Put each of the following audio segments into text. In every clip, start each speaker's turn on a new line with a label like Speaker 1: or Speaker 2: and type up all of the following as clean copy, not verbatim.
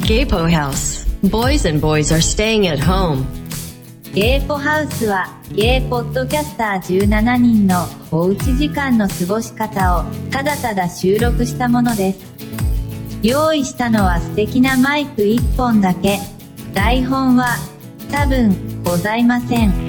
Speaker 1: Gaypo House. Boys and boys are staying at home.
Speaker 2: ゲイポハウスはゲイポッドキャスター17人のおうち時間の過ごし方をただただ収録したものです。用意したのは素敵なマイク1本だけ。台本は多分ございません。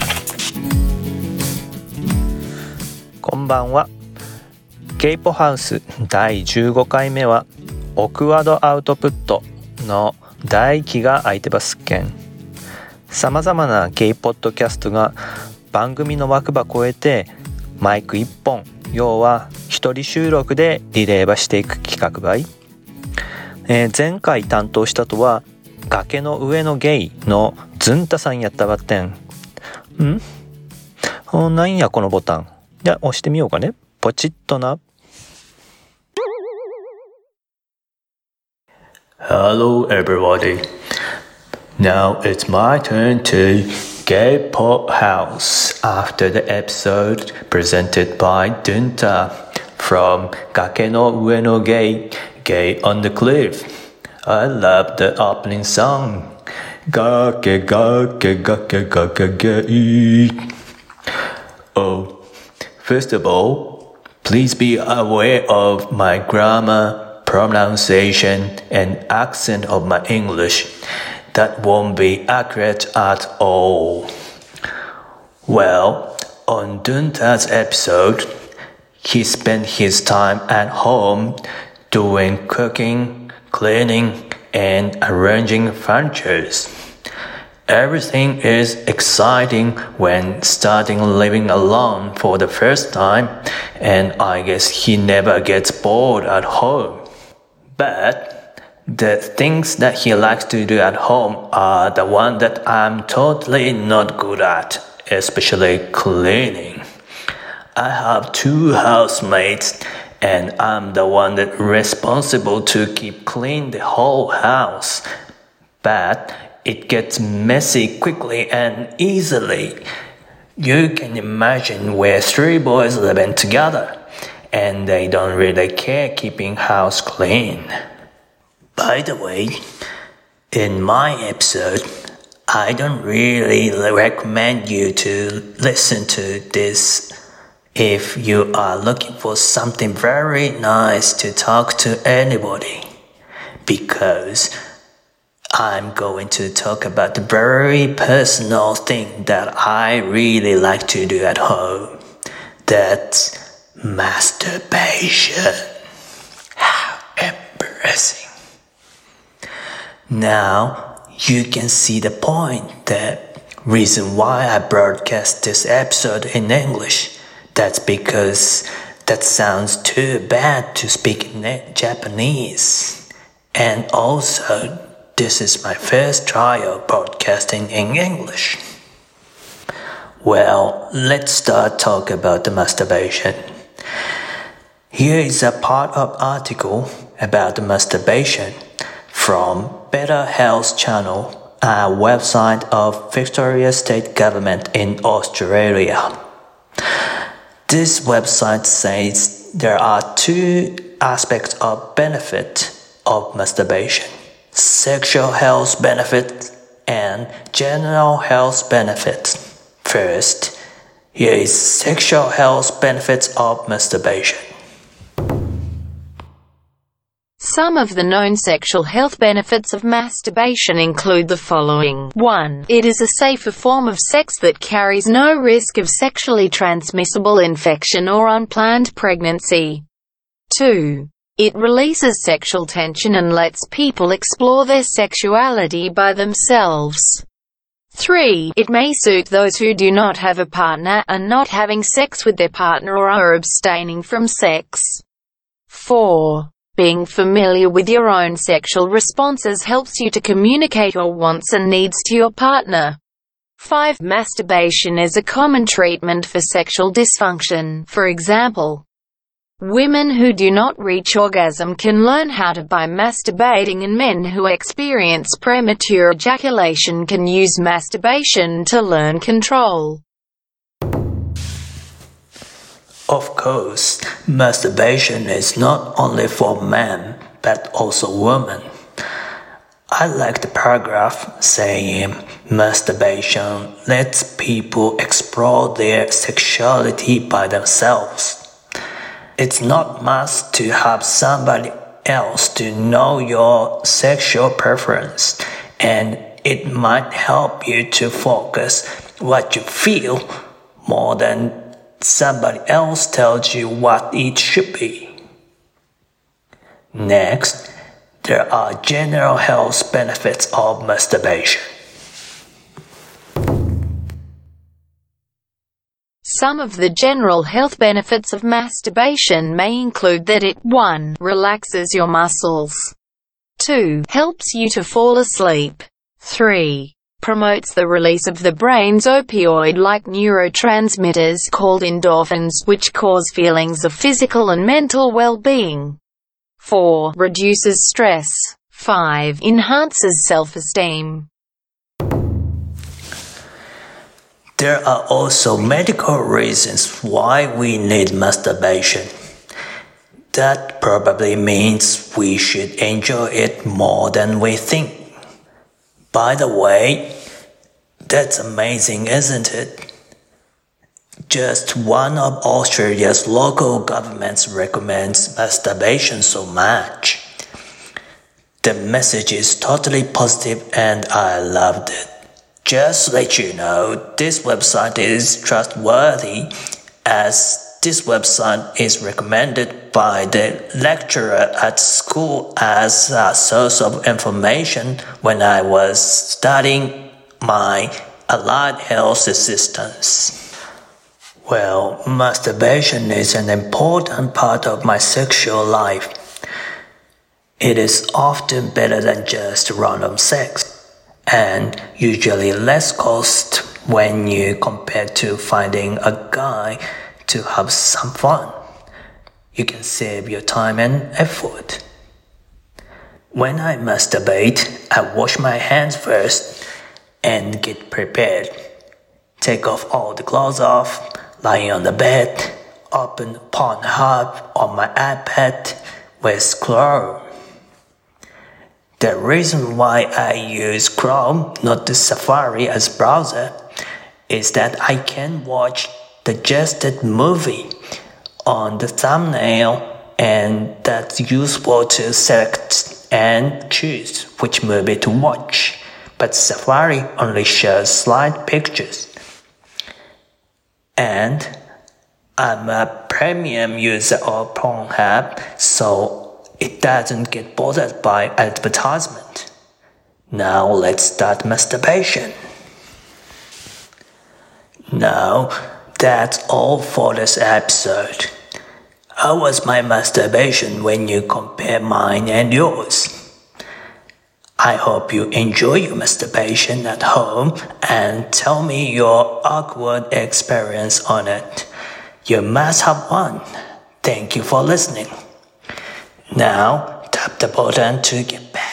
Speaker 3: こんばんは。ゲイポハウス第15回目はオクワードアウトプットの第1期が空いてますけん。さまざまなゲイポッドキャストが番組の枠場超えてマイク1本、要は一人収録でリレーばしていく企画ばい。前回担当したとは崖の上のゲイのズンタさんやったばってん。なんやこのボタン。じゃあ押してみようかね。ポチッとな。
Speaker 4: Hello everybody. Now it's my turn to Gay Pop House after the episode presented by Dunta from Gake no Ue no Gay, Gay on the Cliff. I love the opening song. Gake gake gake gake gay. Oh, first of all, please be aware of my grammar, pronunciation, and accent of my English. That won't be accurate at all. Well, on Dunta's episode, he spent his time at home doing cooking, cleaning, and arranging furniture. Everything is exciting when starting living alone for the first time, and I guess he never gets bored at home. But the things that he likes to do at home are the one that I'm totally not good at, especially cleaning. I have 2 housemates and I'm the one that responsible to keep clean the whole house. But it gets messy quickly and easily. You can imagine we're 3 boys living together and they don't really care keeping house clean.By the way, in my episode, I don't really recommend you to listen to this if you are looking for something very nice to talk to anybody, because I'm going to talk about the very personal thing that I really like to do at home. That's masturbation. How embarrassing.Now, you can see the point, the reason why I broadcast this episode in English. That's because that sounds too bad to speak in Japanese. And also, this is my first try of broadcasting in English. Well, let's start talking about the masturbation. Here is a part of article about the masturbation.From Better Health Channel, a website of Victoria State Government in Australia. This website says there are 2 aspects of benefit of masturbation: sexual health benefit and general health benefit. First, here is sexual health benefits of masturbation.Some
Speaker 5: of the known sexual health benefits of masturbation include the following. 1. It is a safer form of sex that carries no risk of sexually transmissible infection or unplanned pregnancy. 2. It releases sexual tension and lets people explore their sexuality by themselves. 3. It may suit those who do not have a partner, are not having sex with their partner, or are abstaining from sex. 4.Being familiar with your own sexual responses helps you to communicate your wants and needs to your partner. 5. Masturbation is a common treatment for sexual dysfunction. For example, women who do not reach orgasm can learn how to by masturbating, and men who experience premature ejaculation can use masturbation to learn control.Of course, masturbation is not only for men, but also women.
Speaker 4: I like the paragraph saying masturbation lets people explore their sexuality by themselves. It's not must to have somebody else to know your sexual preference, and it might help you to focus what you feel more than somebody else tells you what it should be. Next, there are general health benefits of masturbation.
Speaker 5: Some of the general health benefits of masturbation may include that it 1. Relaxes your muscles. 2. Helps you to fall asleep. 3. Promotes the release of the brain's opioid-like neurotransmitters called endorphins, which cause feelings of physical and mental well-being. 4. Reduces stress. 5. Enhances self-esteem.
Speaker 4: There are also medical reasons why we need masturbation. That probably means we should enjoy it more than we think. By the way, that's amazing, isn't it? Just one of Australia's local governments recommends masturbation so much. The message is totally positive and I loved it. Just to let you know, this website is trustworthy as this website is recommended by the lecturer at school as a source of information when I was studying my allied health assistance. Well, masturbation is an important part of my sexual life. It is often better than just random sex, and usually less cost when you compare to finding a guy to have some fun. You can save your time and effort. When I masturbate, I wash my hands first and get prepared. Take off all the clothes off, lying on the bed, open Pornhub on my iPad with Chrome. The reason why I use Chrome, not the Safari as browser, is that I can watch the suggested movie on the thumbnail, and that's useful to select and choose which movie to watch. But Safari only shows slide pictures. And I'm a premium user of Pornhub, so it doesn't get bothered by advertisement. Now let's start masturbation. Now, that's all for this episode. How was my masturbation when you compare mine and yours? I hope you enjoy your masturbation at home and tell me your awkward experience on it. You must have one. Thank you for listening. Now, tap the button to get back.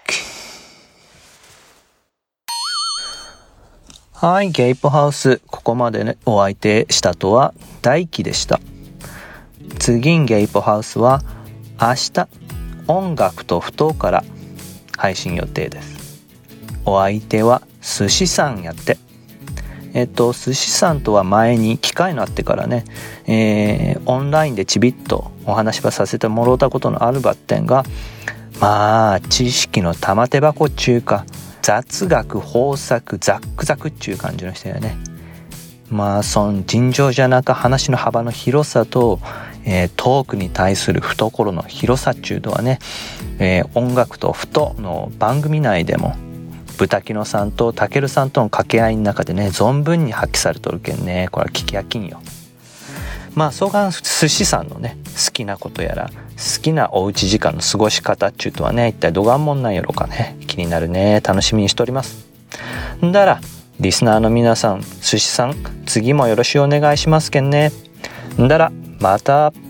Speaker 3: はい、ゲイポハウス、ここまでね、お相手したとは大輝でした。次んゲイポハウスは明日音楽とふとから配信予定です。お相手は寿司さんやって。寿司さんとは前に機会のあってからね、オンラインでちびっとお話はさせてもろうたことのあるばってんが、まあ知識の玉手箱っちゅうか雑学豊作ザックザクっちゅう感じの人やね。まあその尋常じゃなく話の幅の広さと、トークに対する懐の広さっちゅうのはね、音楽とふとの番組内でも豚キノさんとタケルさんとの掛け合いの中でね存分に発揮されとるけんね、これは聞き飽きんよ。まあそうが寿司さんのね好きなことやら好きなおうち時間の過ごし方っちゅうとはね一体どがんもんなんやろかね、気になるね、楽しみにしております。んだらリスナーの皆さん、寿司さん次もよろしくお願いしますけんね。んだらまた。